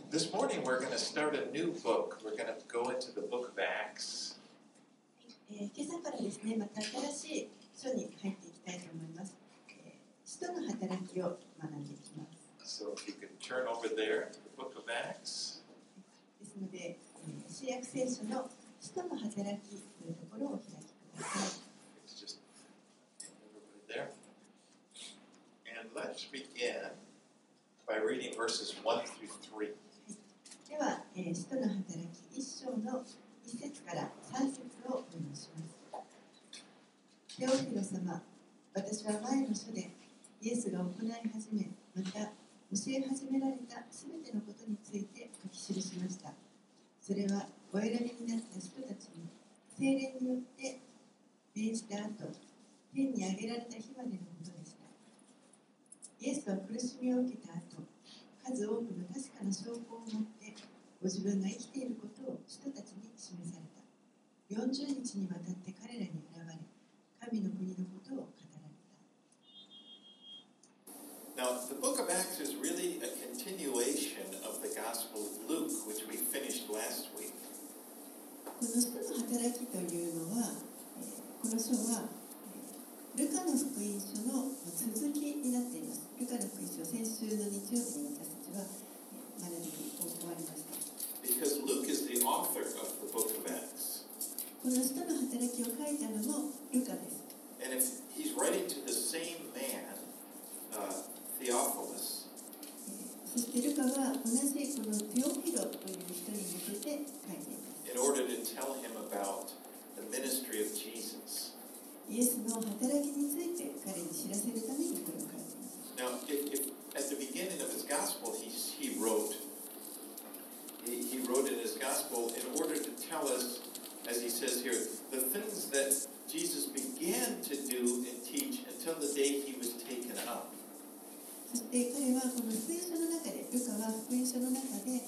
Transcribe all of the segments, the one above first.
This morning we're going to start a new book. We're going to go into the book of Acts. 今朝からですね、また新しい書に入っていきたいと思います。使徒の働きを学んでいきます。 So if you could turn over there to the book of Acts. ですので、新約聖書の使徒の働きというところをお開きください。 It's just over there. And let's begin by reading verses 1 through 3. では、使徒の働き1章の1節から3節をお読みします。テオフィロ様、私は前の書でイエスが行い始め、また教え始められたすべてのことについて書き記しました。それはお選びになった人たちに聖霊によって命じた後、天に上げられた日までのことでした。イエスは苦しみを受けた後、数多くの確かな証拠を持ってご自分が生きていることを人たちに示された。40日にわたって彼らに現れ、神の国のことを語られた。 Now, the book of Acts is really a continuation of the Gospel of Luke, which we finished last week. この使徒の働きというのは、この書はルカの福音書の続きになっています。ルカの福音書、先週の日曜日に私たちは学びを終わりました。 Because Luke is the author of the book of Acts. この使徒の働きを書いたのもルカです。 And if he's writing to the same man, Theophilus, そしてルカは同じこのテオフィロという人に向けて書いています。 in order to tell him about the ministry of Jesus. イエスの働きについて彼に知らせるためにこれを書いています。 Now, if at the beginning of his gospel, he wrote in his gospel in order to tell us, as he says here, the things that Jesus began to do and teach until the day he was taken up. そして彼はこの福音書の中で、ルカは福音書の中で、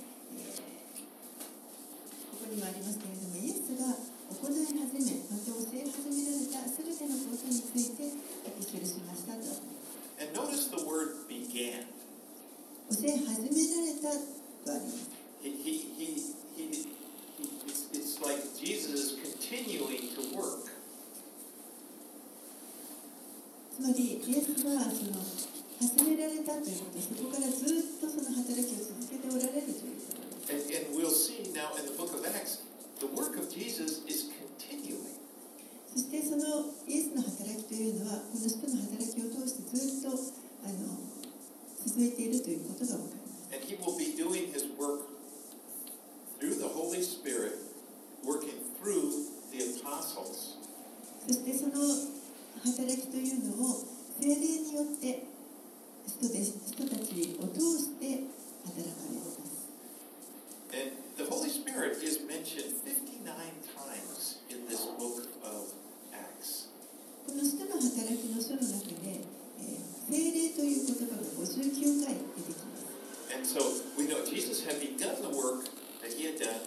ここにもありますけれども、イエスが行い始め、また教え始められたすべてのことについて書き記しましたと。 And notice the word began. 教え始められたとあります。 It's like Jesus is continuing to work. つまり、イエスはその始められたということ、そこからずっとその働きを続けておられるということです。 And we'll see now in the book of Acts, the work of Jesus is continuing. そしてそのイエスの働きというのは、この人の働きを通してずっと続いているということが分かります。 And he will be doing his work through the Holy Spirit, working through the apostles. そしてその働きというのを聖霊によって人たちを通して働かれます。 And the Holy Spirit is mentioned 59 times in this book of Acts. この人の働きの書の中で、聖霊という言葉が59回出てきます。 And so we know Jesus had begun the work that he had done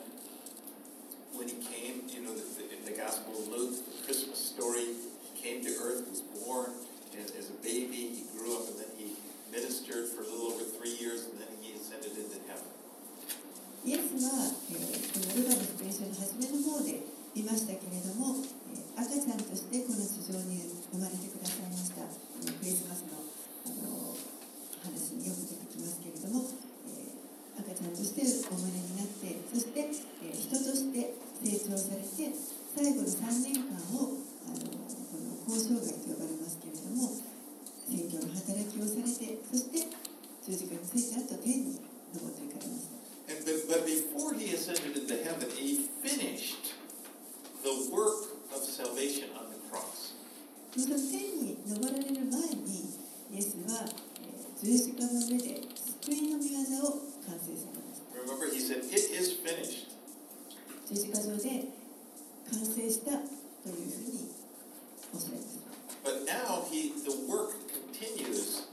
when he came, in the Gospel of Luke, the Christmas story, he came to earth, was born as a baby, he grew up, and then he ministered for a little over 3 years, and then he ascended into heaven. イエスは、このルカの福音書の初めの方で見ましたけれども、赤ちゃんとしてこの地上に生まれてくださいました。クリスマスの、話によく出てきますけれども、赤ちゃんとしてお生まれになって、そして、人として成長されて、最後の3年間をこの交渉外と呼ばれますけれども、宣教の働きをされて、そして十字架についた後天に昇っていかれました。 But before he ascended into heaven, he finished the work of salvation on the cross. その天に昇られる前に、イエスは十字架の上で救いの御業を完成されました。 Remember, he said, "It is finished." 十字架上で完成したというふうにおっしゃいます。 But now the work continues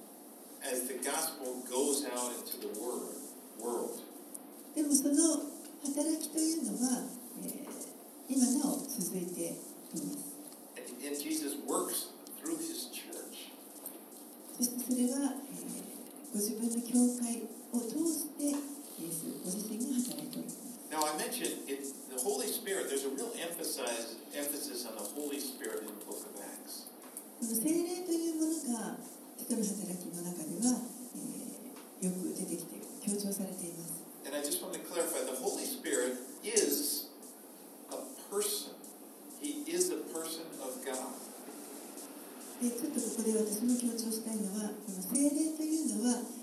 as the gospel goes out into the world. でもその働きというのは、今なお続いています。 And Jesus works through his church. そしてそれは、ご自分の教会を通してイエス mention the Holy Spirit. There's a real emphasis on the Holy Spirit in the book of Acts. 聖霊というものが人の働きの中では、よく出てきて強調されています。 And I just want to clarify, the Holy Spirit is a person. He is a person of God. ちょっとここで私も強調したいのは、この聖霊というのは、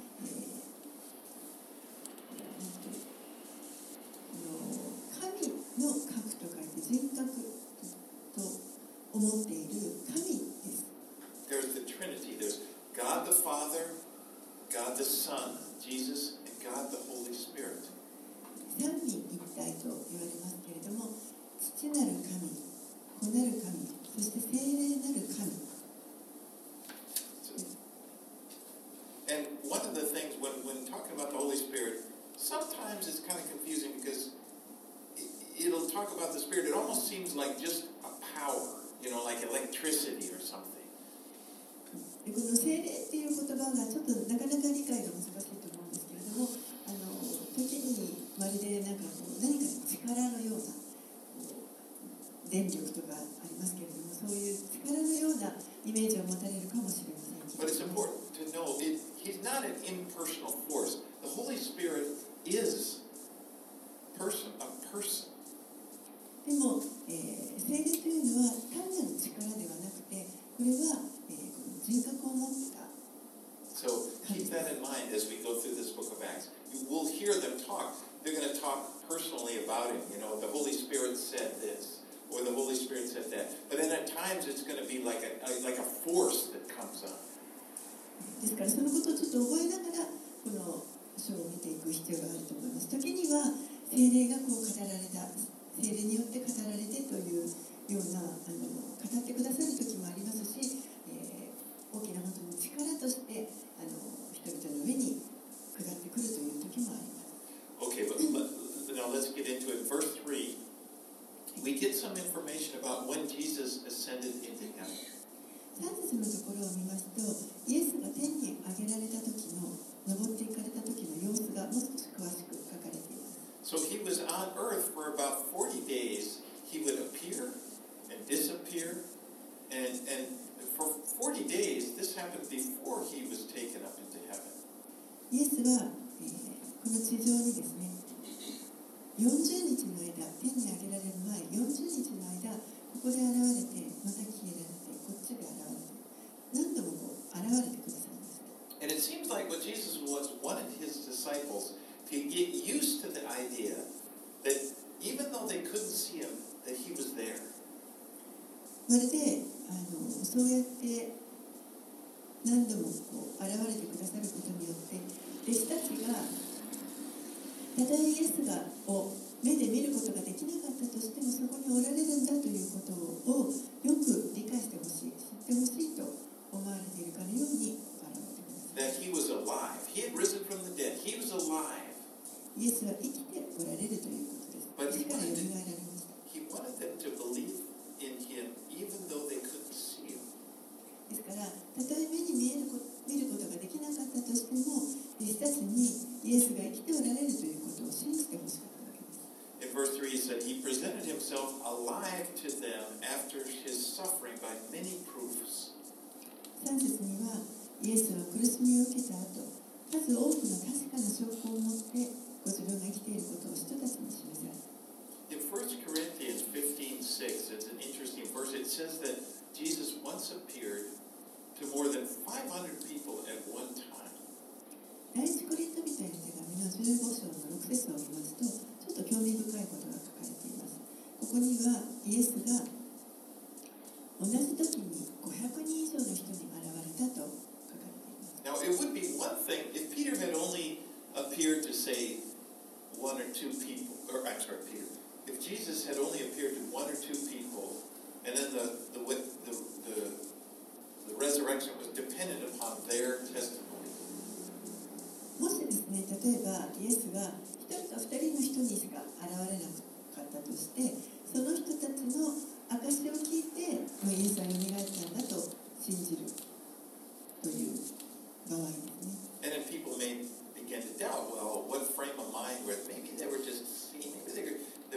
神の核と書いて人格と思っている神です。 There's the Trinity. There's God the Father, God the Son, Jesus, and God the Holy Spirit. 三位一体と言われますけれども、父なる神、子なる神、そして聖霊なる神。 And one of the things when talking about the Holy Spirit, sometimes it's kind of confusing because it'll talk about the Spirit. It almost seems like just a power, like electricity or something. この聖霊っていう言葉がちょっとなかなか理解が難しいと思うんですけれども、時にまるで何か力のような電力とかありますけれども、そういう力のようなイメージを持たれるかもしれません。 But it's important to know he's not an impersonal force. The Holy Spirit is a person. でも、聖霊というのは単なる力ではなくて、これは、この人格を持った。 So keep that in mind as we go through this book of Acts. You will hear them talk. They're going to talk personally about him. The Holy Spirit said this, or the Holy Spirit said that. But then at times it's going to be like a force that comes up. ですからそのことをちょっと覚えながらこの書を見ていく必要があると思います。時には聖霊がこう語られた、聖霊によって語られてというような語ってくださる時もありますし、大きな本当に力として人々の上に下ってくるという時もあります。 Okay, but now let's get into it. Verse 3, we get some information about when Jesus ascended into heaven. 3節のところを見ますと、イエスが天に上げられた時の、登っていかれた時の様子がもう少し詳しく書かれています。 So he was on earth for about 40 days. He would appear and disappear. And for 40 days, this happened before he was taken up into heaven. イエスは、この地上にですね、40日の間、天に上げられる前、40日の間、ここで現れて、また消えられて、こっちで現れて、何度も現れてくださいました。 And it seems like what Jesus wanted his disciples to get used to the idea that even though they couldn't see him, that he was there. まるでそうやって何度も現れてくださることによって弟子たちがたとえイエスを目で見ることができなかったとしてもそこにおられるんだということをよく理解してほしい、知ってほしいと思われているかのように現れてください。 That he was alive. He had risen from the dead. He was alive. イエスは生きておられるということです。 But 死からよみがえられました。 he wanted them to believe in him even though they couldn't see him. ですから、たとえ目に見ることができなかったとしても、弟子たちにイエスが生きておられるということを信じてほしかったわけです。 In verse 3 he said, he presented himself alive to them after his suffering by many proofs. 3節には、イエスは苦しみを受けた後、数多くの確かな証拠を持ってご自分が生きていることを人たちに示された。 In 1 Corinthians 15:6, it's an interesting verse. It says that Jesus once appeared to more than 500 people at one time. 第一コリント人への手紙の15章の6節を見ますと、ちょっと興味深いことが書かれています。ここにはイエスが同じ時に500人以上の人に現れたと書かれています。 Now, it would be one thing if Peter had only appeared to, say, one or two people, or I'm sorry, Peter. If Jesus had only appeared to one or two people, and then the resurrection was dependent upon their testimony. もしですね、例えばイエスが1人と2人の人にしか現れなかったとして、その人たちの証を聞いて、イエスはよみがえったんだと信じるという場合ですね。 And then people may begin to doubt, well, what frame of mind were maybe they were just seeing, maybe they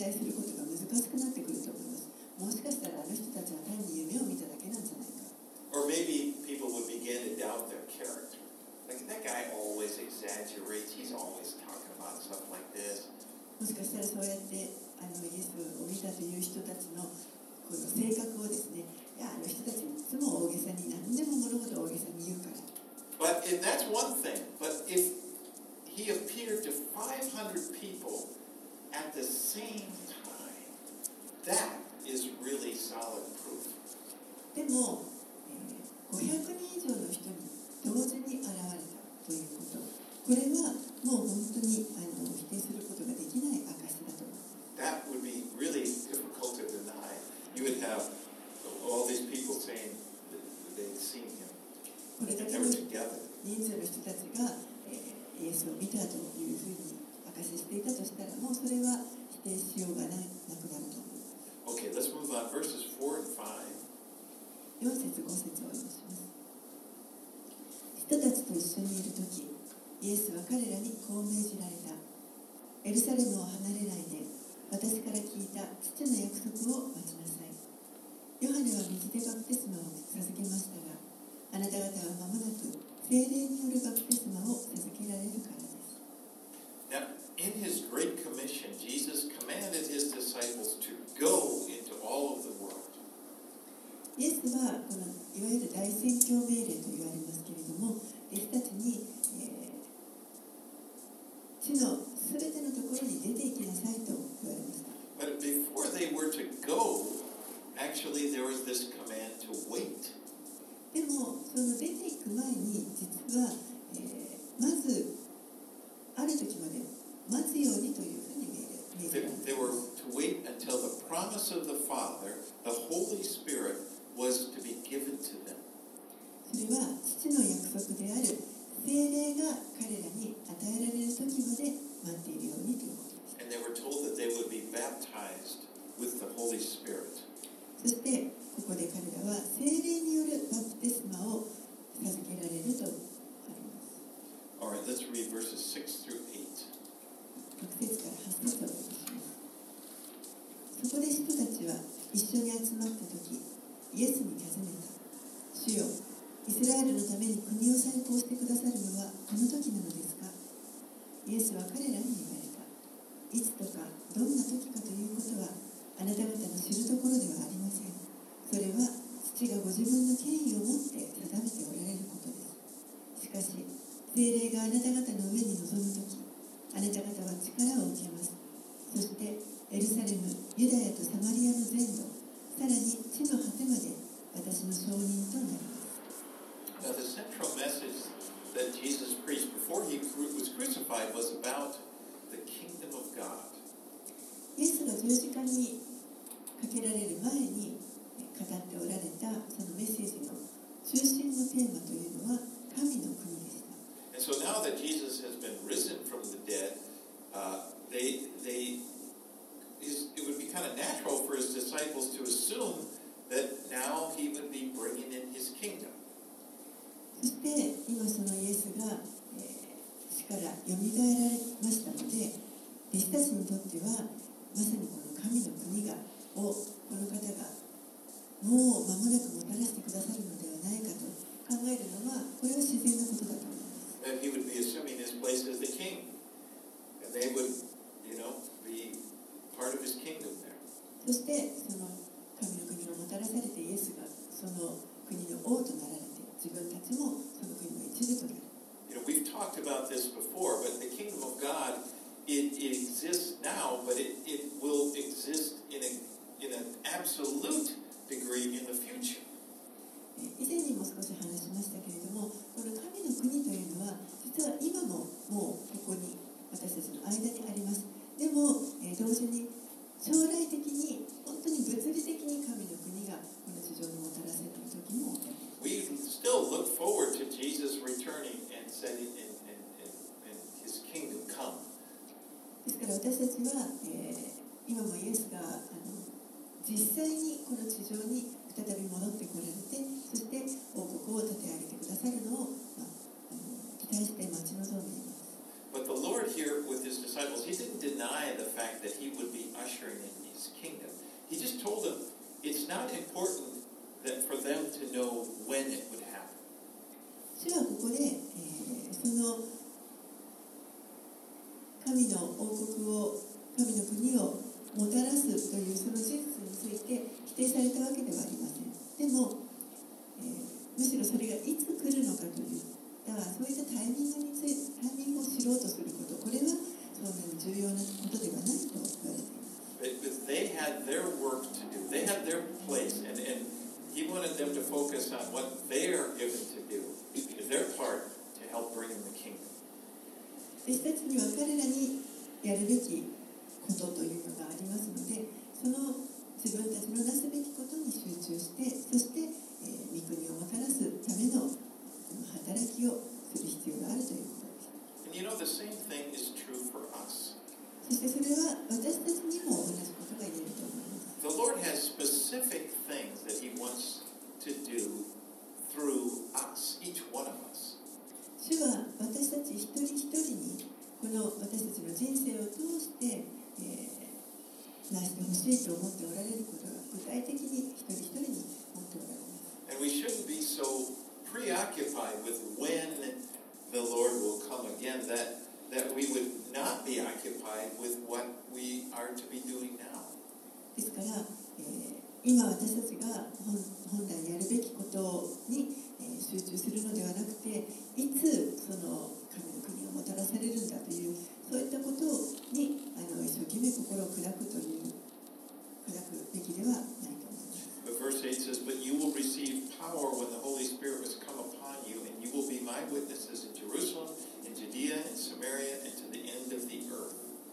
解することが難しくなってくると思います。もしかしたらあの人たちは単に夢を見ただけなんじゃないか。 Or maybe people would begin to doubt their character. Like, that guy always exaggerates. He's always talking about stuff like this. もしかしたらそうやってイエスを見たという人たちのこの性格をですね、いやあの人たちいつも大げさに何でも物事を大げさに言うから。 But that's one thing. But if he appeared to 500 people at the same time, that is really solid proof. でも、500人以上の人に同時に現れたということ、これはもう本当に否定することができない証だと思います。 That would be really difficult to deny. You would have all these people saying that they'd seen him. これだけ They の were 人 together. たちが、イエスを見たというふうに証ししていたとしたら、もうそれは否定しようがなくなると思います。 Okay, let's move on. Verses 4 and 5. 4節5節をお読みします。人たちと一緒にいるとき、イエスは彼らにこう命じられた。エルサレムを離れないで、私から聞いた父の約束を待ちなさい。ヨハネは水でバプテスマを授けましたが、あなた方は間もなく聖霊によるバプテスマを授けられるからです。 Now, in his Great Commission, Jesus commanded his disciples to go into all of the world. イエスはこのいわゆる大宣教命令と言われますけれども、弟子たちに、地のすべてのところに出て行きなさいと言われました。 But before they were to go, actually there was this command to wait. でもその出ていく前に実は、まずある時まで待つようにというふうに命じられています。 They were to wait until the promise of the Father, the Holy Spirit, was to be given to them. それは父の約束である聖霊が彼らに与えられる時まで待っているようにということです。 And they were told that they would be baptized with the Holy Spirit. そしてここで彼らは聖霊によるバプテスマを授けられるとあります。 All right, let's read verses 6 through 8. 6節から8節をお読みします。そこで人たちは一緒に集まった時、イエスに尋ねた。主よ、イスラエルのために国を再興してくださるのはこの時なのですか？イエスは彼らに言われた。いつとかどんな時かということはあなた方の知るところではありません。それは父がご自分の権威を持って定めておられることです。しかし聖霊があなた方の上に臨む時、あなた方は力を受けます。そしてエルサレム、ユダヤとサマリアの全土、さらに地の果てまで私の証人となります。 Now, the central message that Jesus preached before he was crucified was about the kingdom of God. イエスが十字架にかけられる前に語っておられたそのメッセージの中心のテーマというのは神の国でした。 And so now that Jesus has been risen from the dead, it would be kind of natural for his disciples to assume that now he would be bringing in his kingdom. そして今そのイエスが、死からよみがえられましたので、弟子たちにとってはまさにこの神の国をこの方がもう間もなくもたらしてくださるのではないかと考えるのはこれは自然なことだと思います。 That he would be assuming his place as the king, and they would, be part of his kingdom there. そしてその神の国をもたらされてイエスがその国の王となられて、自分たちもその国の一部となる。 We've talked about this before, but the kingdom of God, it exists now, but it will exist in an absolute degree in the future. 以前にも少し話しましたけれども、この神の国というのは実は今ももうここに私たちの間にあります。でも、同時に将来的に本当に物理的に神の国がこの地上にもたらされる時も We still look forward to Jesus returning and setting and his kingdom come. ですから私たちは、今もイエスが実際にこの地上に再び戻ってこられて、そして王国を立て上げてくださるのを、期待して待ち望んでいます。 But the Lord Lord here with his disciples, he didn't deny the fact that he would be ushering in his kingdom. He just told them it's not important that for them to know when it would happen. 主はここで、その神の王国を、神の国をもたらすというその事実について否定されたわけではありません。でも、むしろそれがいつ来るのかといったそういったタイミングを知ろうとすること、これはそんなに重要なことではないと言われています。 But they had their work to do. They had their place, and he wanted them to focus on what they are given to do, their part to help bring in the kingdom. 私たちには彼らにやるべきことというのがありますので、その自分たちのなすべきことに集中して、そして、御国をもたらすための働きをする必要があるということです。 And you know, the same thing is true for us. そしてそれは私たちにも同じことが言えると思います。 The Lord has specific things that he wants to do through us, each one of us. 主は私たち一人一人にこの私たちの人生を通して、なしてほしいと思っておられることが具体的に一人一人に持っておられます。 And we shouldn't be so preoccupied with when the Lord will come again that we would not be occupied with what we are to be doing now. ですから、今私たちが本来やるべきことに、集中するのではなくて、いつその神の国をもたらされるんだというそういったことに一生懸命心を砕くべきではないと思います。 But verse 8 says, "But you will receive power when the Holy Spirit has come upon you, and you will be my witnesses in Jerusalem, in Judea, in Samaria, and to the end of the earth."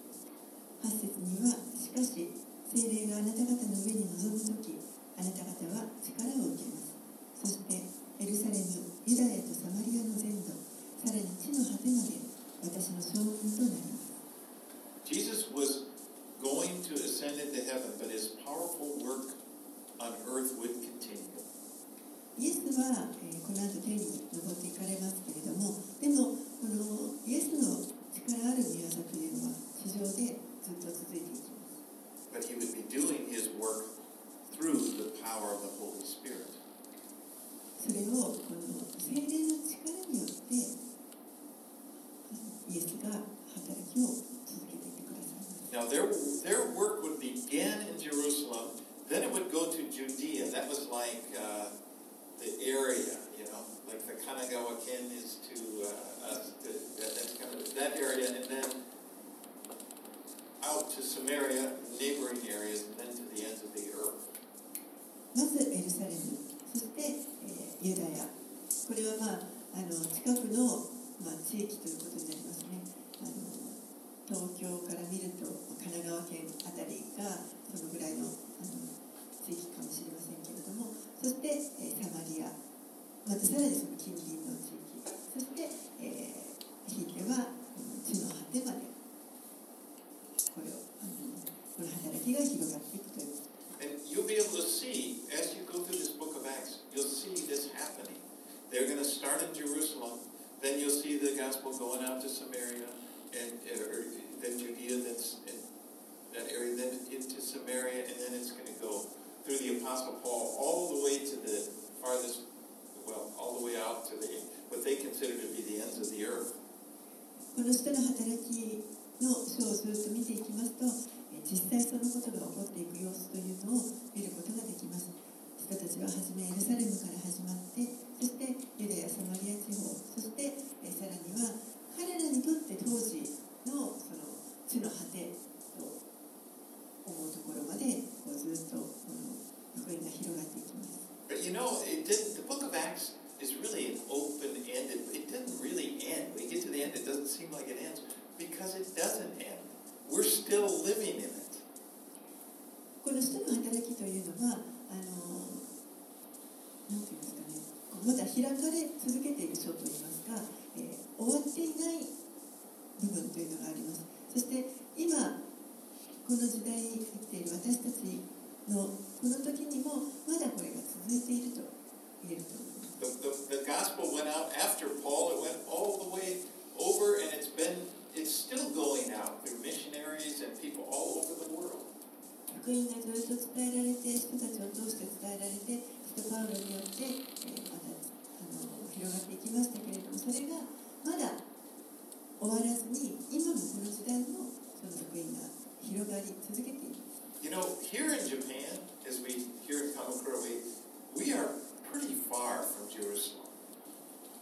8節には、しかし聖霊があなた方の上に臨むとき、あなた方は力を受けます。そしてエルサレム、ユダヤとサマリアの全土、さらに地の果てまで私の証人となります。 Jesus was going to ascend into heaven, but his powerful work on earth would continue. イエスは、この後天に昇っていかれますけれども、でもこのイエスの力ある御業というのは地上でずっと続いていきます。 But he would be doing his work through the power of the Holy Spirit. それをこの聖霊の力によってイエスが働きを続けていってくださいます。 Now their work would begin in Jerusalem, then it would go to Judea. That was like the area, you know, like the Kanagawa Ken is to us. That's kind of that area, and then out to Samaria, neighboring areas, and then to the ends of the earth. まずエルサレム、そして、ユダヤ。これは近くの、地域ということになりますね。東京から見ると神奈川県あたりがそのぐらいの、地域かもしれませんけれども、そして、サマリア、またさらにその近隣の地域、そして、ひいては地の果てまでこの働きが広がっていくという。 And you'll be able to see, as you go through this book of Acts, you'll see this happening. They're going to start in Jerusalem, then you'll see the gospel going out to Samaria, and then Judea, then that area, then into Samaria, and then it's going to go through the Apostle Paul all the way to the farthest, all the way out to what they consider to be the ends of the earth. この人の働きの書をずっと見ていきますと、実際そのことが起こっていく様子というのを見ることができます。人たちははじめエルサレムから始まって、そしてユダヤ、サマリア地方、そしてさらには彼らにとって当時のその地の果てと思うところまでずっとこの福音が広がっていきます。 But you know, the book of Acts is really an open-ended. It didn't really end. We get to the end, it doesn't seem like it ends because it doesn't end. We're still living in it. この使徒の働きというのはなんていうんですかね、まだ開かれ続けている書といいますか、終わっていない部分というのがあります。そして今この時代に生きている私たちのこの時にもまだこれが続いていると言えると思います。 The gospel went out after Paul. It went all the way over, and it's still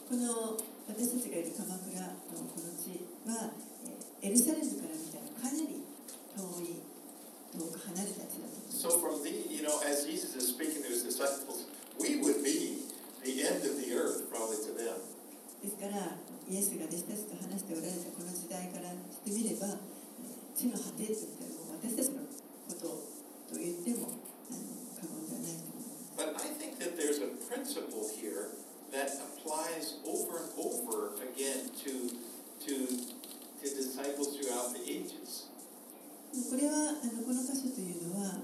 この私たちがいる鎌倉のこの地は、エルサレムから見たらかなり遠く離れた地だと思います。 So from the, as Jesus is speaking to his disciples, we would be the end of the earth probably to them. ですからイエスが弟子たちと話しておられたこの時代からしてみれば、地の果てといったらもう私たちのことと言っても過言ではないと思います。 But I think that there's a principle here that applies over and over again to disciples throughout the ages. これはこの箇所というのは、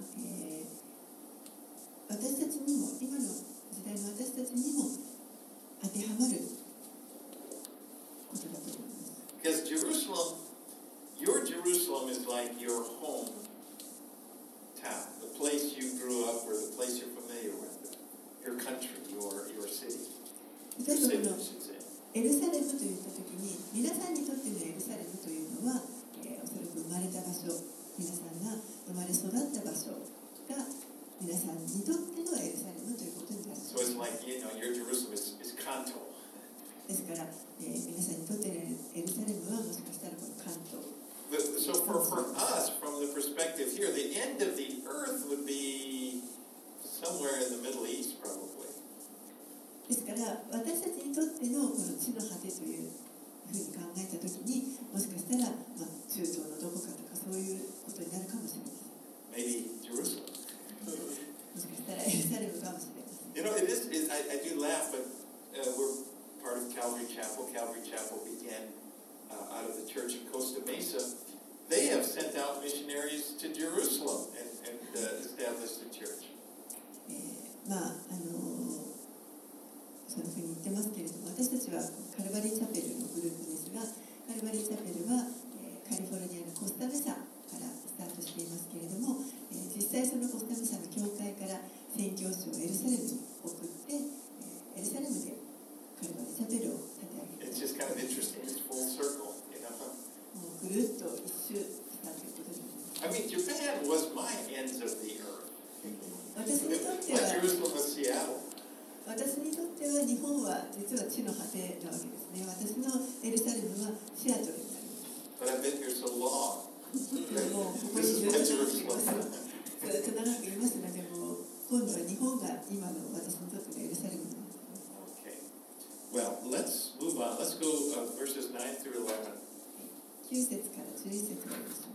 私たちにも今の時代の私たちにも当てはまることだと思います。 Because your Jerusalem is like your home town, the place you grew up or the place you're familiar with, your country, your city. 例えばこのエルサレムといったときに、皆さんにとってのエルサレムというのは、おそらく生まれた場所、皆さんが生まれ育った場所が皆さんにとってのエルサレムということになります。 So it's like, your Jerusalem is Kanto. ですから、皆さんにとってのエルサレムはもしかしたらこの関東。 So for us, from the perspective here, the end of the earth would be somewhere in the Middle East, probably. ですから私たちにとってのこの地の果てというふうに考えたときに、もしかしたら、中東のどこかとかそういうことになるかもしれません。 Maybe Jerusalem. もしかしたらエルサレムかもしれません。 I do laugh, but we're part of Calvary Chapel. Calvary Chapel began out of the church in Costa Mesa. They have sent out missionaries to Jerusalem and established a church. そういうふうに言ってますけれども、私たちはカルバリーチャペルのグループですが、カルバリーチャペルは、カリフォルニアのコスタメサからスタートしていますけれども、実際そのコスタメサの教会から宣教師をエルサレムに送って、エルサレムでカルバリーチャペルを立て上げて、 It's just kind of interesting. It's full circle, もうぐるっと一周したということになります。 I mean, Japan was my ends of the earth. 私にとっては Like Jerusalem was Seattle. 私にとっては日本は実は地の果てなわけですね。私のエルサレムはシアトルになります。 But I've been here so long. もうここに This is ずっ my と長くいます。 Jerusalem. ずっと長くいますので、もう今度は日本が今の私にとってのエルサレムになっています。 Okay. Well, let's move on. Let's go verses 9 through 11. 9節から11節をお読みします。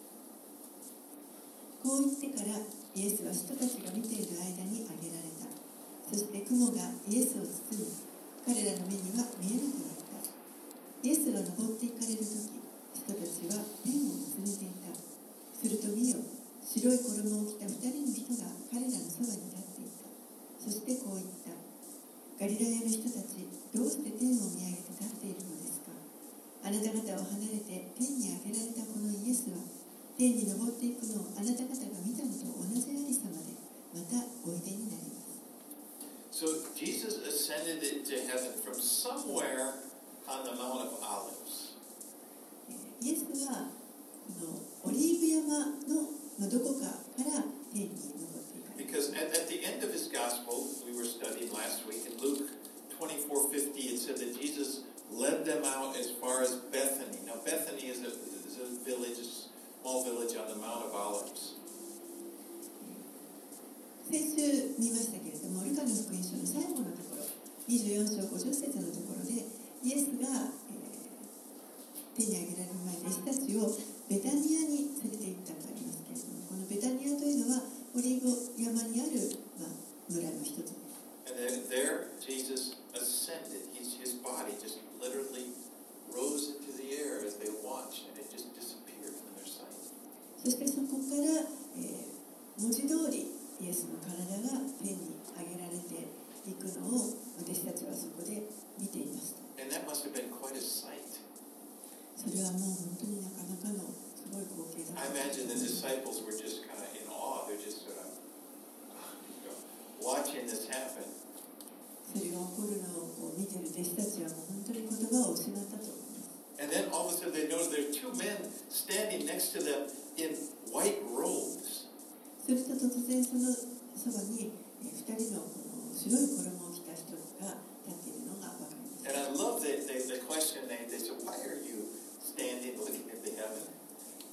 こう言ってからイエスは人たちが見ている間に挙げられた。そして雲がイエスを包み、彼らの目には見えなくなった。イエスが登っていかれるとき、人たちは天を見つめていた。すると見よ、白い衣を着た2人の人が彼らのそばに立っていた。そしてこう言った。ガリラヤの人たち、どうして天を見上げて立っているのですか。あなた方を離れて天に上げられたこのイエスは、天に登っていくのをあなた方が見たのと同じありさまで、またおいでになります。 So Jesus ascended into heaven from somewhere on the Mount of Olives. イエスはこのオリーブ山のどこかから天に登っていかれた。 Because at the end of his gospel, we were studying last week in Luke 24:50, it said that Jesus led them out as far as Bethany. Now Bethany is a village, a small village on the Mount of Olives. 先週見ましたけれども、ルカの福音書の最後のところ、24章50節のところで、イエスが、天に上げられる前、弟子たちをベタニアに連れて行ったとありますけれども、このベタニアというのはオリーブ山にある、村の一つです。 And then there, Jesus ascended. His body just literally rose into the air as they watched, and it just disappeared from their sight. そしてそこから、文字通りイエスの体が天に上げられていくのを私たちはそこで見ていました。 And that must have been quite a sight. それはもう本当になかなかのすごい光景だった。 I imagine the disciples were just kind of in awe. They're just sort of watching this happen. それが起こるのを見ている弟子たちはもう本当に言葉を失ったと思います。 And then all of a sudden they notice there are two men standing next to them in white robes. すると突然そのそばに2人のこの白い衣を着た人が立っているのが分かります。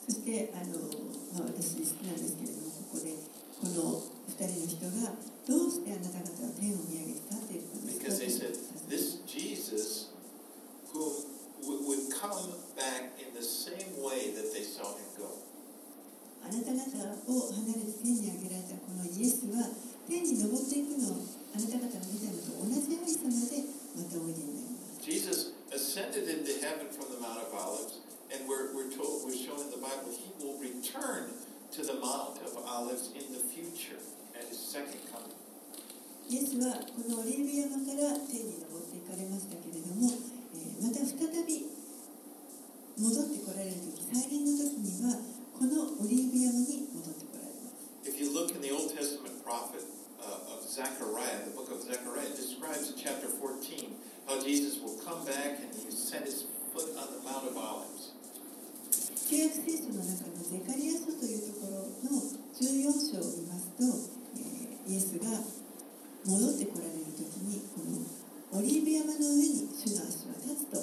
そして私好きなんですけれども、ここでこの2人の人がどうしてあなた方は天を見上げて立っているのですか Because they said, this Jesus who would come back in the same way that they saw him go. あなた方を離れて天に上げられたこのイエスは天に昇っていくのをあなた方が見たのと同じありさまでまたおいでになります。 Jesus ascended into heaven from the Mount of Olives, and we're shown in the Bible, he will return to the Mount of Olives in the future at his second coming. イエスはこのオリーブ山から天に昇っていかれましたけれども、また再び戻ってこられる時、再臨の時にはこのオリーブ山に戻ってこられます。 If you look in the Old Testament prophet of Zechariah, the book of Zechariah, it describes in chapter 14 how Jesus will come back and he set his foot on the Mount of Olives. 旧約聖書の中のゼカリア書というところの14章を見ますと、イエスが戻ってこられるときにこのオリーブ山の上に主の足は立つと。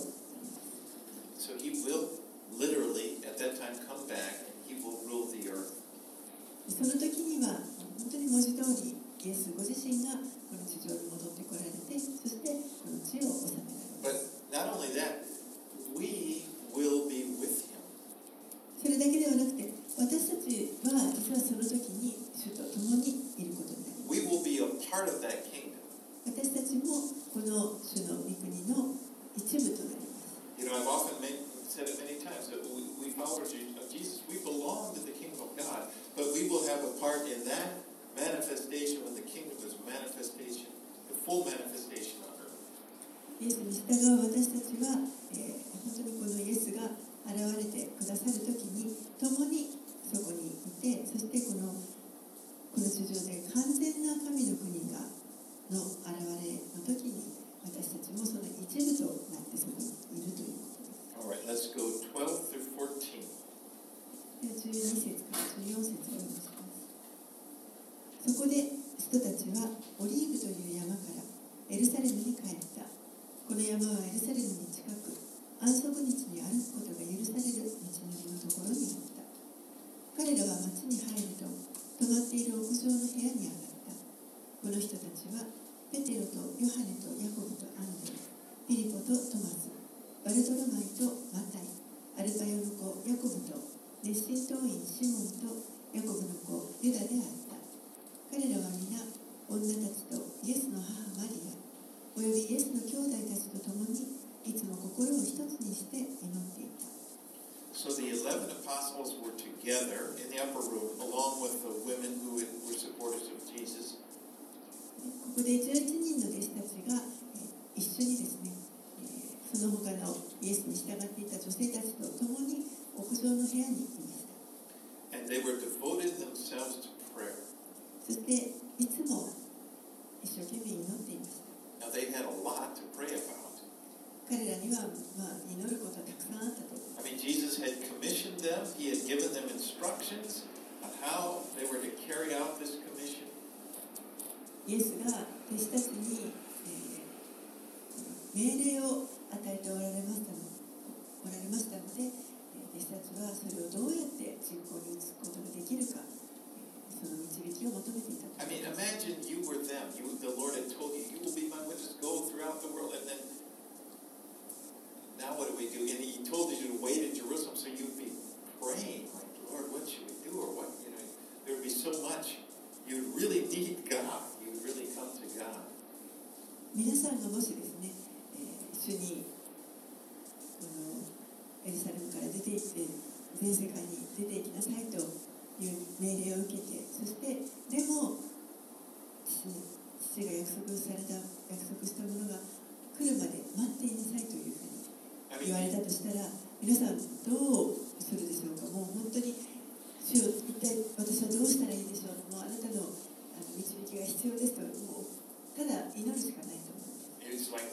So he will literally at that time come back and he will rule the earth. その時には本当に文字通りイエスご自身がこの地上に戻ってこられて、そしてこの地を治められます。 But not only that, we will be with him. それだけではなくて、私たちは実はその時に主と共にいることになります。 We will be a part of that kingdom. 私たちもこの主の御国の一部となります。 You know, I've often said it many times that we followers of Jesus, we belong to the kingdom of God, but we will have a part in that manifestation when the kingdom is manifestation, the full manifestation on earth. イエスに従う私たちは、本当にこのイエスが現れてくださる時に共にそこにいて、そしてこの地上で完全な神の国がの現れの時に私たちもその一部となってそこにいるということです。 All right, let's go 12 through 14. では12節から14節を読みします。そこで人たちはオリーブという山からエルサレムに帰った。この山はエルサレムに近く、安息日に歩くことが許される道のりのところにあった。彼らは町に入ると泊まっている屋上の部屋に上がった。この人たちはペテロとヨハネとヤコブとアンドレ、ピリポとトマス、バルトロマイとマタイ、アルパヨの子ヤコブと熱心党員シモンとヤコブの子ユダであった。彼らは皆女たちとイエスの母マリアおよびイエスの兄弟たちと共にいつも心を一つにして祈っていた。 So the 11 apostles were together in the upper room along with the women who were supporters of Jesus. ここで11人の弟子たちが一緒にですね、その他のイエスに従っていた女性たちと共に屋上の部屋にいました。 And they were devoted themselves to prayer. そしていつも一生懸命祈っていました。 Now they had a lot to pray about. 彼らには祈ることはたくさんあったと。 I mean, Jesus had commissioned them. He had given them instructions on how they were to carry out this commission. イエスが弟子たちに、命令を与えておられましたので、弟子たちはそれをどうやって実行に移すことができるか、その導きを求めていたと。 I mean, imagine you were them. The Lord had told you, you will be my witness, go throughout the world. And then, now what do we do? And he told you to wait in Jerusalem, so you'd be praying, like, Lord, what should we do? Or what, there would be so much. You'd really need God. You'd really come to God. 皆さんがもしですね、一緒にこのエルサレムから出て行って全世界に出て行きなさいという命令を受けて、そしてでも父が約束したものが来るまで待っていなさいというふうに言われたとしたら、皆さんどうするでしょうか。もう本当に主よ、一体私はどうしたらいいでしょう。もうあなたの導きが必要ですと、もうただ祈るしかないと思う。 It's like,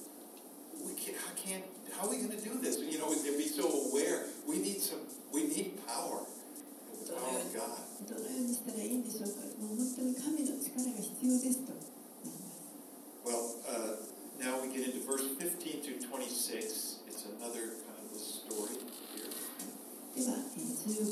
how are we going to do this? They'd be so aware. We need power. The power of God. どのようにしたらいいんでしょうか。もう本当に神の力が必要ですとなります。 Well, now we get into verse 15 to 26. It's another kind of a story here. では、15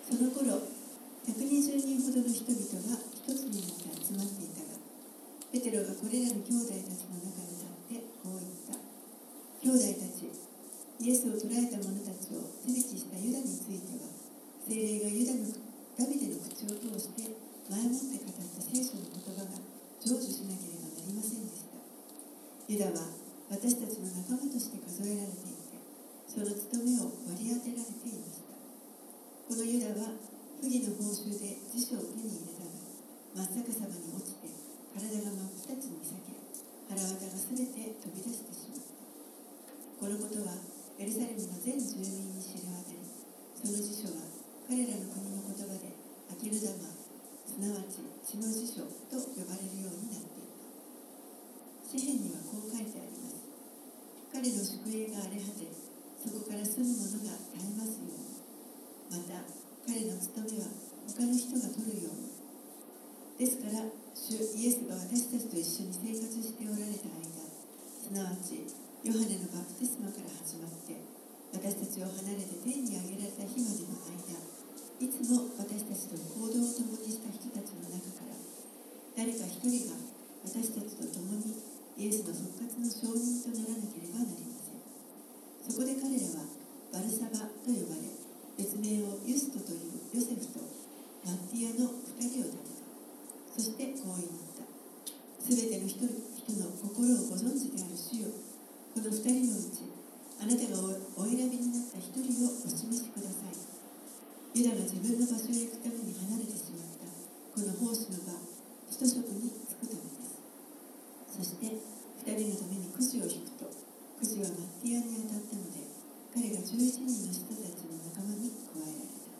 その頃、120人ほどの人々が一つになって集まっていたが、ペテロがこれらの兄弟たちの中に立ってこう言った。兄弟たち、イエスを捕らえた者たちを手引きしたユダについては、聖霊がダビデの口を通して前もって語った聖書の言葉が成就しなければなりませんでした。ユダは私たちの仲間として数えられていて、その務めを割り当てられていました。このユダは不義の報酬で辞書を手に入れたが、真っ逆さまに落ちて体が真っ二つに裂け、腹渡がすべて飛び出してしまった。このことはエルサレムの全住民に知れ渡り、その辞書は彼らの国の言葉でアキルダマ、すなわち血の辞書と呼ばれるようになっていた。詩篇にはこう書いてあります。彼の宿営が荒れ果て、そこから住む者が絶えますように。また彼の務めは他の人が取るように。ですから主イエスが私たちと一緒に生活しておられた間、すなわちヨハネのバプテスマから始まって私たちを離れて天に上げられた日までの間、いつも私たちと行動を共にした人たちの中から誰か一人が私たちと共にイエスの復活の証人とならなければなりません。そこで彼らはバルサバと呼ばれ、別名をユストというヨセフとマッティアの2人を立てた。そしてこう言った。すべての人の心をご存知である主よ、この2人のうちあなたがお選びになった1人をお示しください。ユダが自分の場所へ行くために離れてしまったこの奉仕の場、使徒職に就くためです。そして2人のためにくじを引くと、くじはマッティアに当たったので、彼が11人の人たちの仲間に加えられた。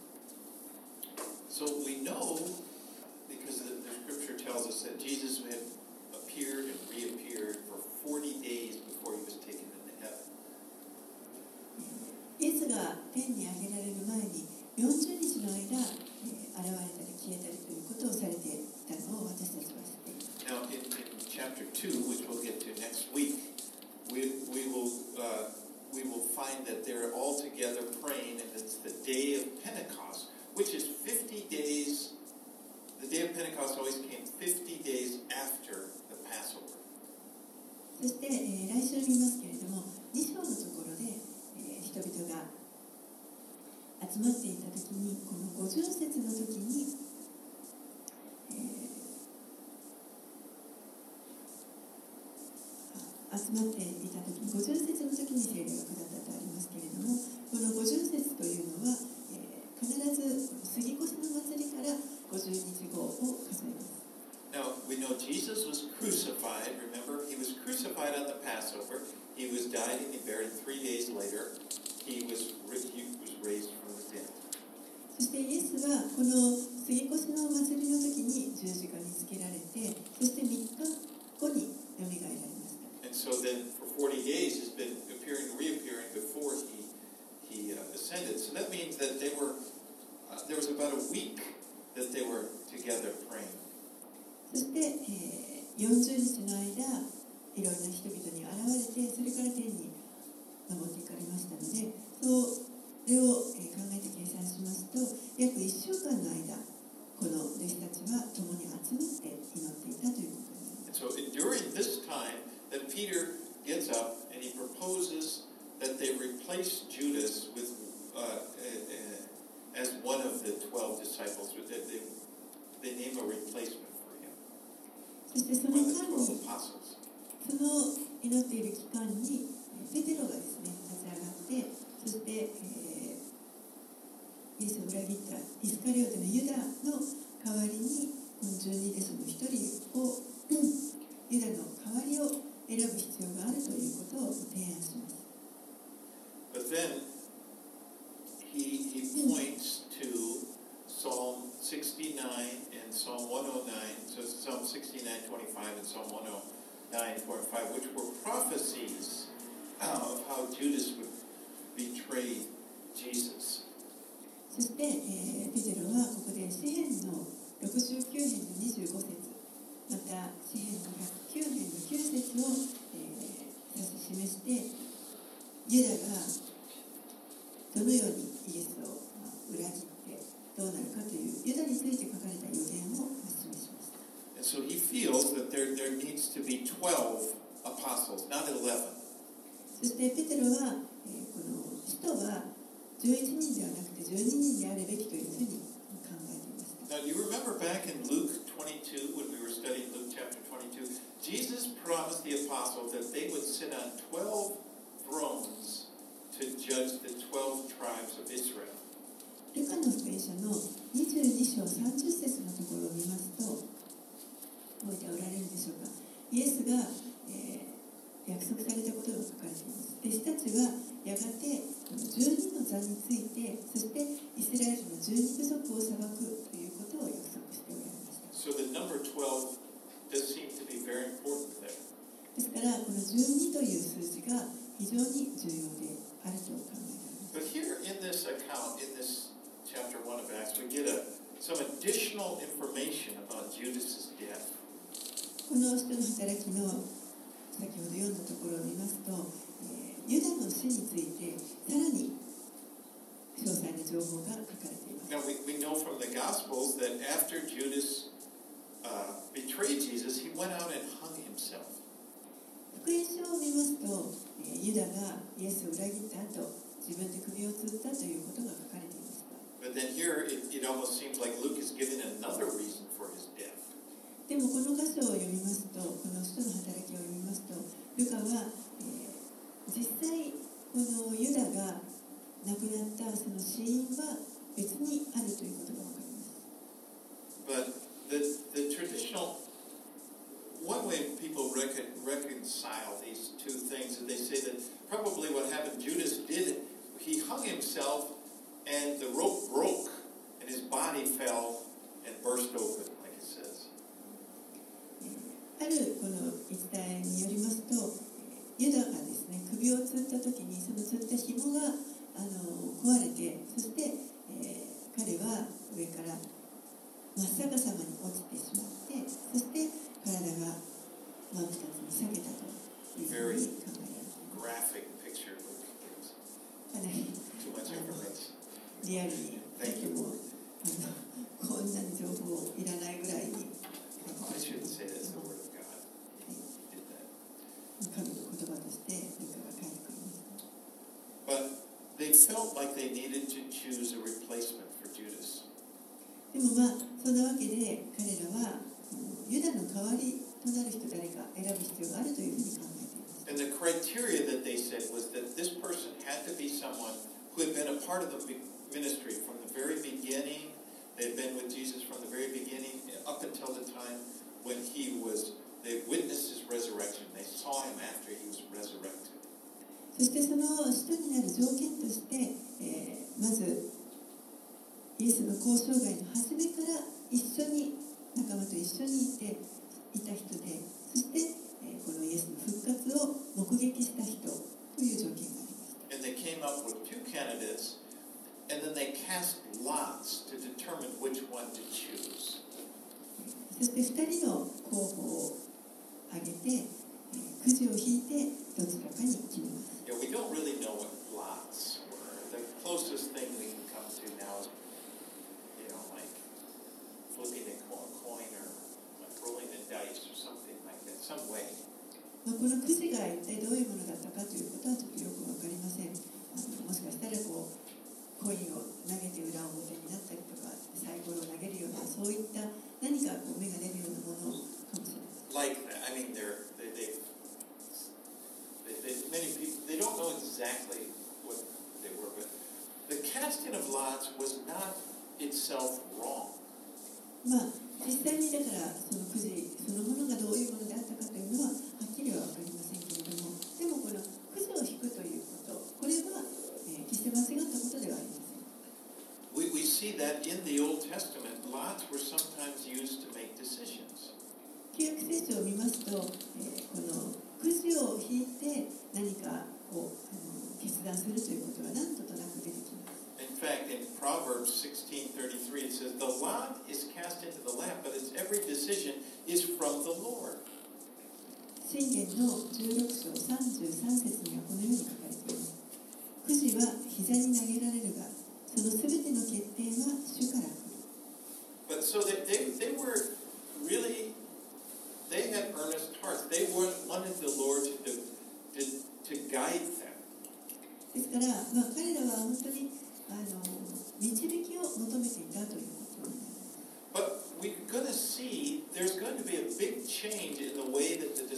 So we know, because the scripture tells us that Jesus had appeared and reappeared for 40 days before he was taken into heaven. イエスが天に上げられる前に40日の間、現れたり消えたりということをされていたのを私たちは知っています。 Now, in chapter 2, which we'll get to next week, we will find that they're all together praying, and it's the day of Pentecost, which is 50 days. The day of Pentecost always came 50 days after the Passover. そして、来週見ますけれども、2章のところで、人々が集まっていたときに、この50節の時に、集まっていた時に50節の時に聖霊が下ったとありますけれども、この50節というのは、必ず杉越の祭りから50日後を数えます。 Now, we know Jesus was crucified. Remember, he was crucified on the Passover. He was died and he buried 3 days later. He was raised from the dead. そしてイエスはこの杉越の祭りの時に十字架につけられて、そして3日後によみがえられました。 And so then for 40 days he's been appearing and reappearing before he ascended. So that means that there was about a week that they were together praying. そして、40日の間、いろんな人々に現れて、それから天に昇っていかれましたので、それを、考えて計算しますと、約1週間の間、この弟子たちは共に集まって祈っていたということになります。 And so during this time that Peter gets up and he proposes that they replace Judas with as one of the 12 disciples. They name a replacement for him. そしてその One of 間 the に、 12 apostles. その祈っている期間に、ペテロがですね、立ち上がって、そして、イエスを裏切ったイスカリオテのユダの代わりに、この12弟子の一人を、ユダの代わりを選ぶ必要があるということを提案します。 But then he points to Psalm 69 and Psalm 109. So Psalm 69:25 and Psalm 109:4-5, which were prophecies of how Judas would betray Jesus. そして、ペテロはここで詩編の69編の25節、また詩編の109編の9節を、指し示して、ユダがどのようにイエスを裏切ってどうなるかというユダについて書かれた予言を示しました。 And so he feels that there needs to be 12 apostles, not 11. そしてペテロは、この使徒は11人ではなくて12人であるべきというふうに考えていました。 Now, you remember back in Luke 22, when we were studying Luke chapter 22, Jesus promised the apostles that they would sit on 12 thrones to judge the 12 tribes of Israel. ルカの福音書の22章30節のところを見ますと、覚えておられるでしょうか。イエスが、約束されたことが書かれています。弟子たちはやがて12の座について、そしてイスラエルの12部族を裁くということを約束しておられました。 So the number 12 does seem to be very important there. ですから、この12という数字が非常に重要であると考えられます。 But here in this account, in this chapter 1 of Acts, we get some additional information about Judas's death. この使徒の働きの先ほど読んだところを見ますと、ユダの死についてさらに詳細な情報が書かれています。 Now we know from the Gospels that after Judas betrayed Jesus, he went out and hung himself. 福音書を見ますと、ユダがイエスを裏切った後、自分で首を吊ったということが書かれていました。 But then here it almost seems like Luke is giving another reason for his death. でもこの箇所を読みますと、この使徒の働きを読みますと、ルカは、実際このユダが亡くなったその死因は別にあるということが分かります。 But the traditional one way people reconcile these two things is they say that probably what happened, Judas did, he hung himself and the rope broke and his body fell and burst open, like it says. あるこの言い伝えによりますと、ユダがですね、首を吊った時にその吊った紐が壊れて、そして、彼は上から真っ逆さまに落ちてしまって、そして体が真っ二つに裂けたというふうに考えられています。 Graphic picture Luke gives. かなり Too much information. リアルにとてもこんなに情報いらないぐらいに I shouldn't say that's the word of God. He did that. 神の言葉としてルカが書いてくれました。 But they felt like they needed to choose a replacement for Judas. でもそんなわけで彼らはユダの代わりとなる人誰か選ぶ必要があるというふうに考えています。 And the criteria that they said was that this person had to be someone who had been a part of the ministry from the very beginning. They had been with Jesus from the very beginning up until the time when they witnessed his resurrection. They saw him after he was resurrected. そしてその使徒になる条件として、まずイエスの交渉外の初めから一緒に仲間と一緒にいた人で、そして、このイエスの復活を目撃した人という条件がありました。 And they came up with two candidates, and then they cast lots to determine which one to choose. そして2人の候補を挙げて、くじを引いてどちらかに決めます。 Yeah, we don't really know what lots were. The closest thing we can come to now is, like flipping a coin or like rolling the dice or something like that, some way. このくじが一体どういうものだったかということはちょっとよくわかりません。もしかしたらコインを投げて裏表になったりとか、サイコロを投げるようなそういった何か目が出るようなものかもしれません。 Like that. I mean, many people, they don't know exactly what they were, but the casting of lots was not itself wrong. 実際にだからそのくじそのものがどういうものであったかというのははっきりは分かりませんけれども、でもこのくじを引くということ、これは、決して間違ったことではありません。 We see that in the Old Testament, lots were sometimes used to make decisions. 旧約聖書を見ますと、このくじを引いて何かを決断するということが何ととなく出てきます。 In fact, in Proverbs 16:33, it says, "The lot is cast into the lap, but its every decision is from the Lord." 箴言の16章33節にはこのように書かれています。くじは膝に投げられるが、そのすべての決定は主から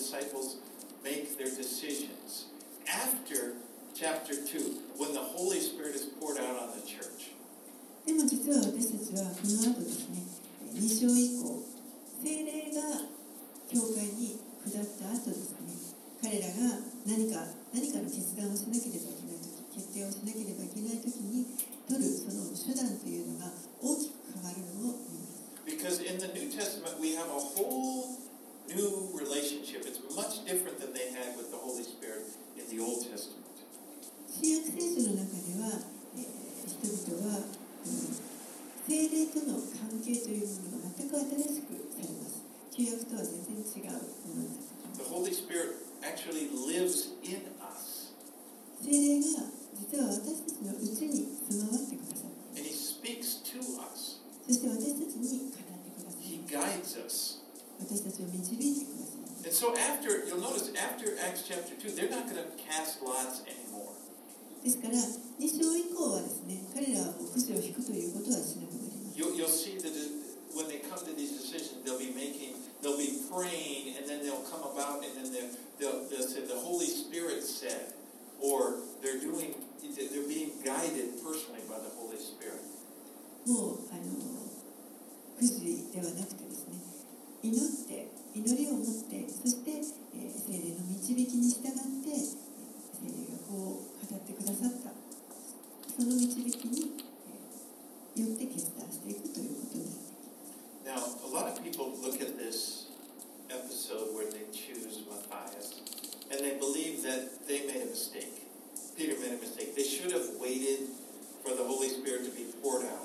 disciples make their decisions after chapter 2, when the Holy Spirit is poured out on the church. でも実は私たちはこの後ですね、2章以降、聖霊が教会に下った後ですね、彼らが何かの決断をしなければいけないとき、決定をしなければいけないときに取るその手段というのが大きく変わるのを見ます。 Because in the New Testament, we have a whole new relationship. It's much different than they had with the Holy Spirit in the Old Testament. 新約聖書の中では、人々は、聖霊との関係というものが全く新しくされます。旧約とは全然違うものになってきます。 The Holy Spirit actually lives in us. 聖霊が実は私たちのうちに住まわってくださる。 And He speaks to us. そして私たちに語ってくださる。 He guides us. 私たちを導いてくださる。 And so you'll notice after Acts chapter 2, they're not going to cast lots anymore. ですから、2章以降はですね、彼らはくじを引くということはしなくなります。 You'll see that when they come to these decisions, they'll be praying, and then they'll come about, and then they'll say the Holy Spirit said, or they're being guided personally by the Holy Spirit. もうくじではなくてですね、祈りを持って、そして、聖霊の導きに従って、聖霊がこう語ってくださった、その導きに、よって決断していくということになってきます。 Now, a lot of people look at this episode where they choose Matthias, and they believe that they made a mistake. Peter made a mistake. They should have waited for the Holy Spirit to be poured out.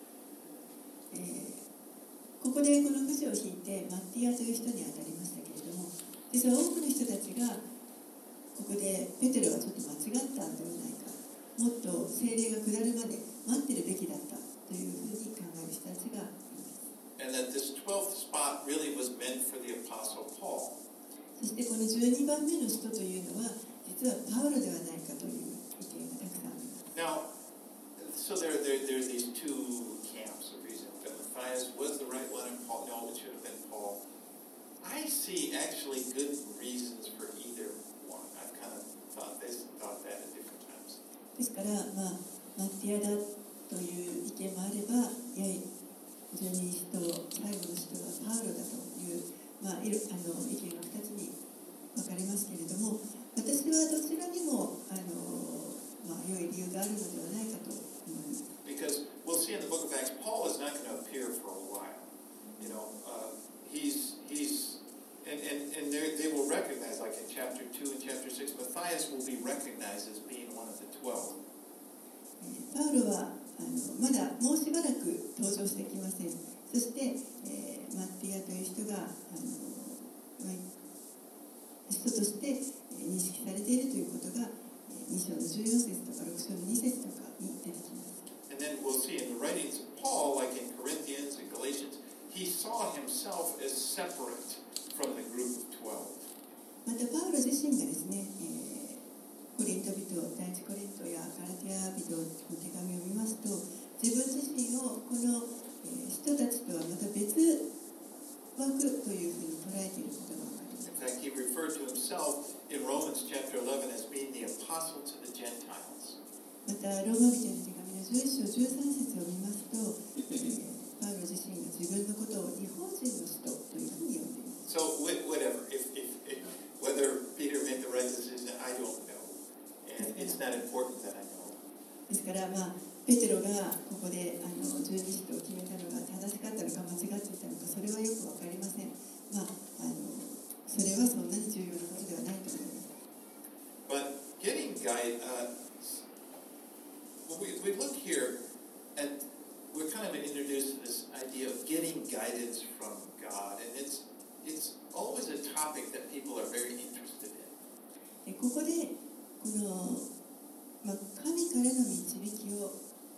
ここでこのくじを引いてマッティアという人に当たりましたけれども、実は多くの人たちがここでペテロはちょっと間違ったんではないか、もっと聖霊が下るまで待ってるべきだったというふうに考える人たちがいます。 And that this 12th spot really was meant for the Apostle Paul. そしてこの12番目の人というのは実はパウロではないかという意見がたくさんあります。 Now, so there's these two camps of reason. That Matthias was the right one and Paul, no, it should have been Paul. I see actually good reasons for either one. I've kind of thought that at different times. ですから、マッティアだという意見もあれば、いや十二使徒、最後の使徒はパウロだという、意見が2つに分かれますけれども、私はどちらにも良い理由があるのではないかと思います。 Because we'll see in the book of Acts, Paul is not going to appear for a while. And they will recognize, like in chapter 2 and chapter 6, Matthias will be recognized as being one of the 12. パウロはまだもうしばらく登場してきません。そして、マッティアという人が人として認識されているということが2章の14節とか6章の2節とかに出てきます。 And then we'll see in the writings of Paul, like in Corinthians and Galatians, he saw himself as separate from the group of 12. またパウロ自身がですね、コリント人、第一コリントやガラティア人の手紙を見ますと、自分自身をこの人たちとはまた別枠というふうに捉えていることが分かります。 In fact, he referred to himself in Romans chapter 11 as being the apostle to the Gentiles. またローマ人の手紙の11章13節を見ますと、パウロ自身が自分のことを日本人の人というふうに呼んでいます。 So whatever, whether Peter made the right decision, I don't know. And it's not important that I know. ですから、ペテロがここで十二使徒を決めたのが正しかったのか間違っていたのか、それはよく分かりません。それはそんなに重要なことではないと思います。 But getting we look here and we're kind of introduced to this idea of getting guidance from God, and it's always a topic that people are very interested in. ここでこの、神からの導きを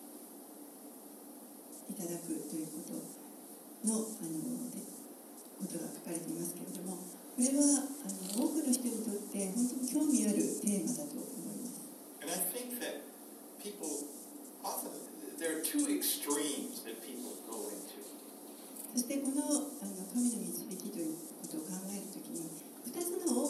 いただくということのことが書かれていますけれども、これは多くの人にとって本当に興味あるテーマだと思います。 And I think that people often there are two extremes that people go into. そしてこの神の導きということを考えるときに2つの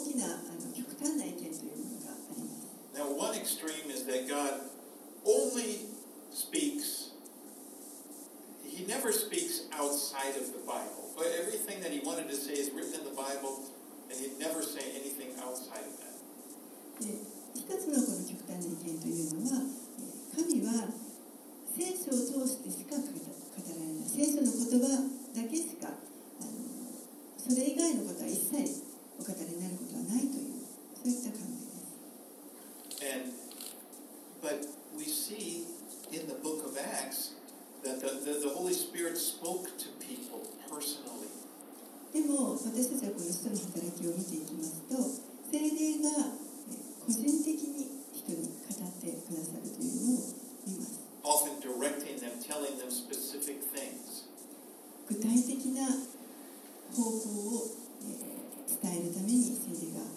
he never speaks outside of the Bible. But everything that he wanted to say is written in the Bible, and he'd never say anything outside of that. で一つのこの極端な意見というのは、神は聖書を通してしか語られない、聖書の言葉だけしかそれ以外のことは一切お語りになることはないという、そういった考えです。 But we see in the book of Acts that the Holy Spirit spoke to people personally. でも私たちはこの使徒の働きを見ていきますと、聖霊が個人的に人に語ってくださるというのを見ます。 Often directing them, telling them specific things. 具体的な方向を伝えるために聖霊が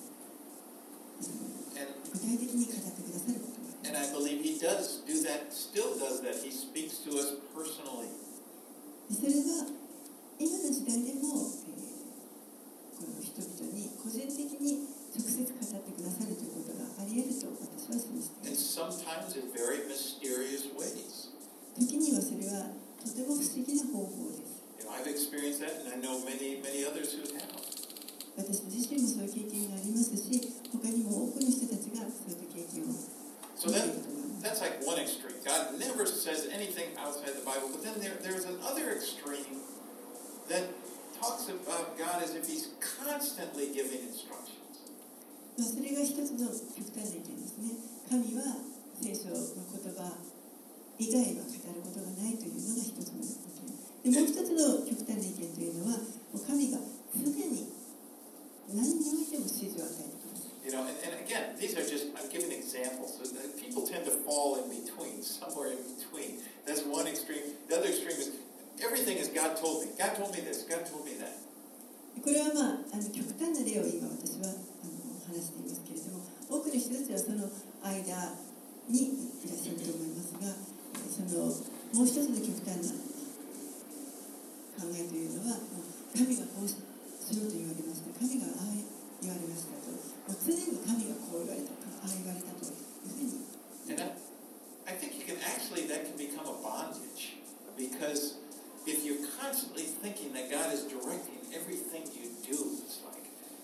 具体的に語ってくださることがあります。 And I believe he does do that, still does that. He speaks to us personally. それは今の時代でも、この人々に個人的に直接語ってくださるということがあり得ると私は信じています。 And sometimes in very mysterious ways. 時にはそれはとても不思議な方法です。 You know, I've experienced that, and I know many others who have. 私自身もそういう経験がありますし、他にも多くの人たちがそういった経験を So that's like one extreme. God never says anything outside the Bible. But then there's another extreme that talks about God as if he's constantly giving instructions. それが一つの極端な意見ですね。神は聖書の言葉以外は語ることがないというのが一つの意見。でもう一つの極端な意見というのは、神が常に何においても指示を与えてください。 You know, and again, these are just, I'm giving examples. So that people tend to fall in between, somewhere in between. That's one extreme. The other extreme is, everything is God told me. God told me this. God told me that. これは極端な例を今私は話していますけれども、多くの人たちはその間にいらっしゃると思いますが、もう一つの極端な考えというのは、神がこうしようと言われました、神がああ言われましたと、もう常に神がこう言われた、ああ言われたというふうに。 And I think that can become a bondage. Because if you're constantly thinking that God is directing everything you do, it's like,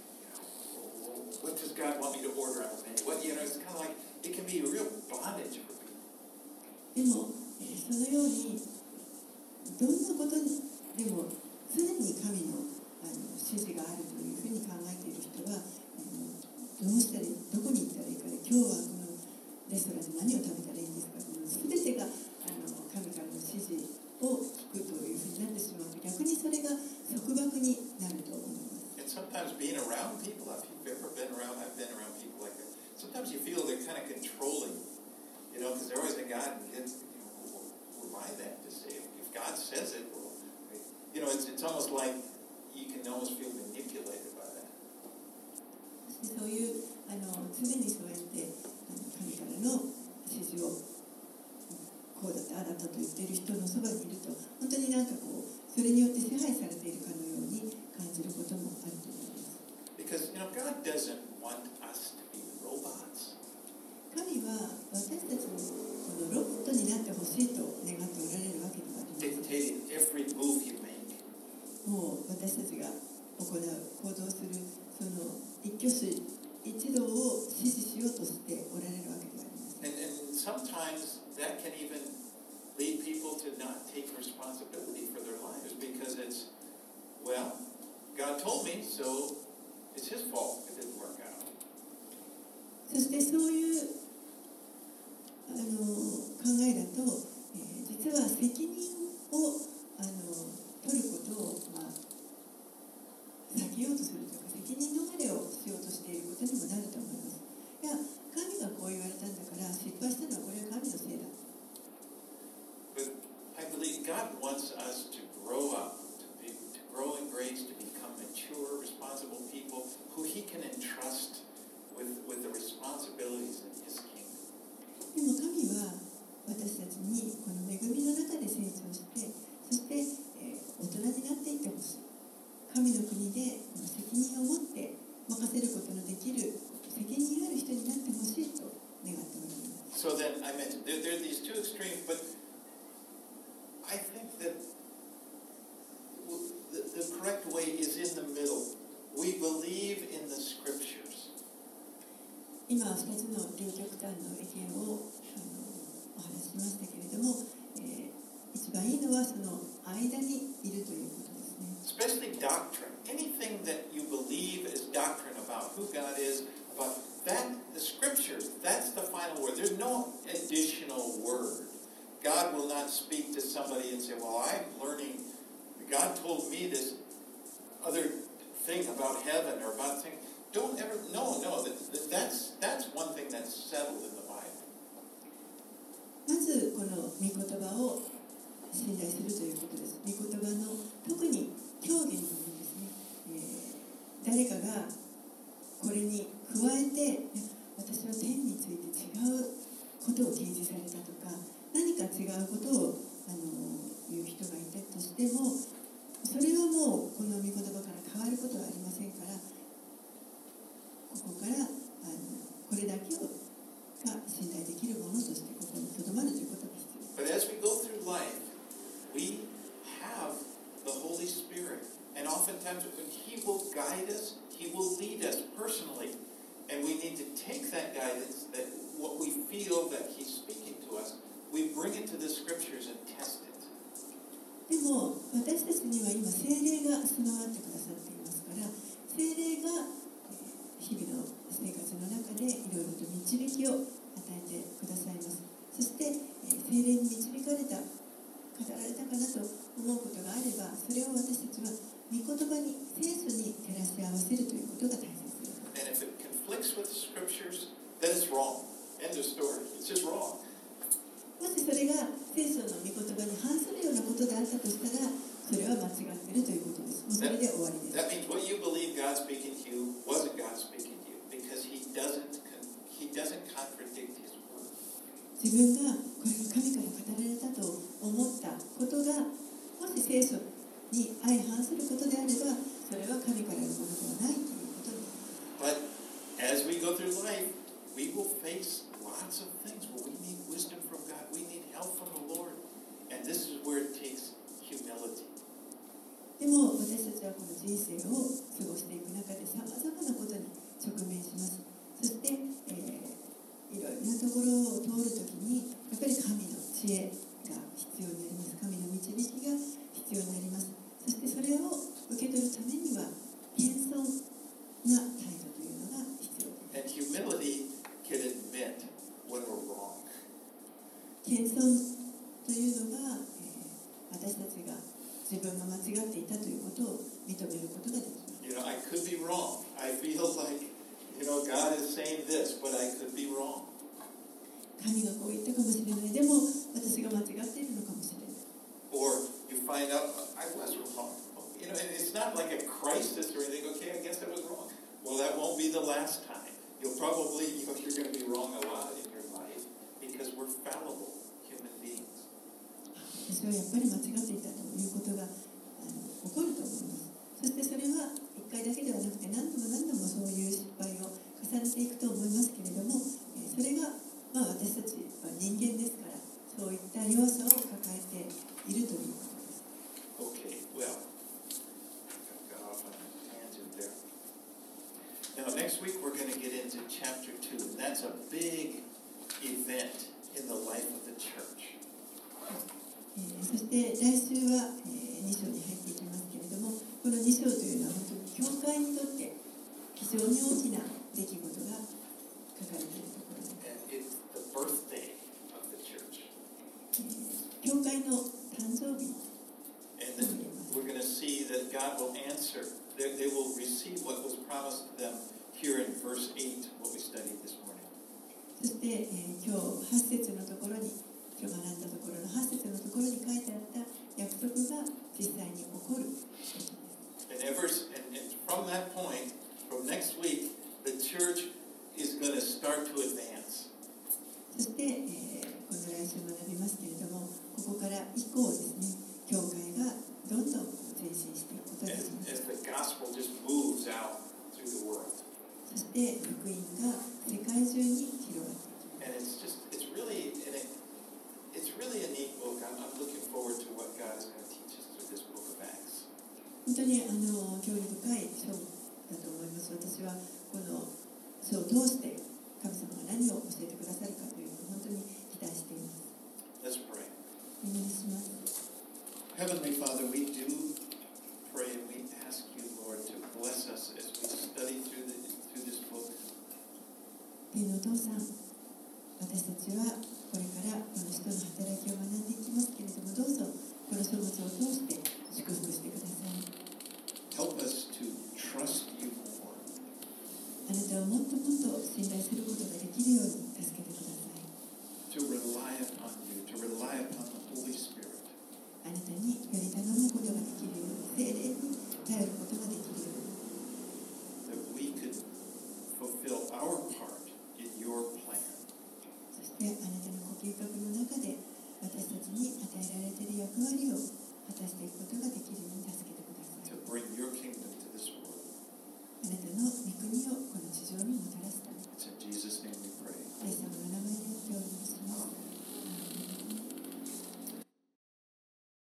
what does God want me to order out of me? It's kind of like, it can be a real bondage for people. でも、そのようにどんなことでも常に神の指示があるというふうに考えている人は、どうしたらどこに行ったらいいかで、今日はこのレストランで何を食べたらいいんですか、全てが神からの指示を聞くというふうになってしまうと、逆にそれが束縛になると思います。 And sometimes being around people, if you've ever been around, I've been around people like that. Sometimes you feel they're kind of controlling, because they're always like, God, who am I that to say? If God says it, well, it's almost like you can almost feel manipulated by that. そういう常にそうやって神からの指示をこうだったああだったと言っている人のそばにいると、本当にそれによって支配されているかのように感じることもあると思います。 Because God doesn't want us to be robots. 神は私たちもこのロボットになってほしいと願っておられるわけではありません。 Dictating every move you make. もう私たちが行う行動するその一挙手一動を指示しようとしておられるわけではありません。 And sometimes that can even lead people to not take responsibility for their lives because it's, well, God told me, so it's his fault it didn't work out. そしてそういう考えだと、実は責任を取ることを、避けようとするというか、責任逃れをしようとしていることにもなると思います。いや、神がこう言われたんだから失敗したのはこれは神のせいだ。 But I believe God wants us to grow up, to grow in grace, to become mature, responsible people who he can entrust with the responsibilities in his kingdom. でも神は私たちにこの恵みの中で成長して、そして、大人になっていってほしい。神の国で責任を持って任せることのできる責任ある人になってほしいと願っております。 So then I mentioned there are these two extremes, but I think that way is in the middle. We believe in the scriptures. 今2つの両極端の意見をお話ししましたけれども、一番いいのはその間にいるということですね。 Especially doctrine. Anything that you believe is doctrine about who God is, about that, the scriptures, that's the final word. There's no additional word. God will not speak to somebody and say, well, I'm learning, God told me this other thing about heaven or about things. Don't ever, no, that's one thing that's settled in the Bible. まずこの御言葉を信頼するということです。御言葉の特に教義の部分ですね。誰かがこれに加えて私は天について違うことを掲示されたとか何か違うことを言う人がいたとしてもそれはもうこの御言葉から変わることはありませんからここからこれだけが信頼できるものとしてここにとどまるということが必要です。 But as we go through life, we have the Holy Spirit. And oftentimes He will guide us, He will lead us personally. And we need to take that guidance, that what we feel that He's speaking to us, we bring it to the Scriptures and test it. でも私たちには今聖霊が備わってくださっていますから聖霊が日々の生活の中でいろいろと導きを与えてくださいます。そして聖霊に導かれた語られたかなと思うことがあればそれを私たちは御言葉に聖書に照らし合わせるということが大切です。 And if it conflicts with the Scriptures, then it's wrong. End of story. It's just wrong. もしそれが聖書の御言葉に反するようなことであったとしたらそれは間違っているということです。もうそれで終わりです。 That means what you believe God's speaking to you wasn't God speaking to you because He doesn't contradict His word. 自分がこれが神から語られたと思ったことがもし聖書に相反することであればそれは神からのものではないということになります。 But as we go through life, we will face lots of things where we need wisdom from God. We need help from the Lord. And this is where it takes humility. でも私たちはこの人生を過ごしていく中でさまざまなことに直面します。そして、いろいろなところを通るときにやっぱり神の知恵が必要になります。神の導きが必要になります。そしてそれを受け取るためには謙遜な態度というのが必要です。 And humility can admit when we're wrong. 謙遜というのが、私たちが自分が間違っていたということを認めることができます。 You know, I could be wrong. I feel like, God is saying this, but I could be wrong. 神がこう言ったかもしれない。でも私が間違っているのかもしれない。 Or you find out, I was wrong. And it's not like a crisis or anything. Okay, I guess I was wrong. Well, that won't be the last time. You'll probably, you're going to be wrong a lot in your life because we're fallible human beings. 私はやっぱり間違っていたということが起こると思います。そしてそれは一回だけではなくて何度もそういう失敗を重ねていくと思いますけれども、それが、私たちは人間ですからそういった弱さを抱えているということです。 Okay, well, got off on a tangent there. Now, next week we're going to get into chapter 2, and that's a big event in the life of the church. そして来週は2章に入っていきますけれども、この2章というのは本当に教会にとって非常に大きな出来事が書かれているところです。 And it's the birthday of the church. 教会の誕生日 And then we're going to see that God will answer. They will receive what was promised to them here in verse 8, what we studied this morning. そして、今日8節のところに今日学んだところの8節のところに書いてあった約束が実際に起こる。 And from that point, from next week, the church is going to start to advance. そして、この来週学びますけれども、ここから以降ですね、教会がどんどん前進していくことになります。 As the gospel just moves out through the world. そして福音が世界中に広がっていきます。 And it's really a neat book. I'm looking forward to what God is going to teach us through this book of Acts. 本当に興味深い章だと思います。私はこの書を通して神様が何を教えてくださるかというのを本当に期待しています。 Let's pray. お祈りします。 Heavenly Father, we do pray and we ask you, Lord, to bless us as we study through this book. 天のお父さん、私たちはこれからこの使徒の働きを学んでいきますけれども、どうぞこの書物を通して祝福してください。 Help us to trust you more. あなたをもっともっと信頼することができるように助けてください。 To rely upon you, to rely upon the Holy Spirit. あなたにより頼むことができるように、聖霊に頼ることができるように、 That we could fulfill our part in your plan. そしてあなたのご計画の中で私たちに与えられている役割を果たしていくことができるように助けてください。 To bring your kingdom to this world. あなたの御国をこの地上にもたら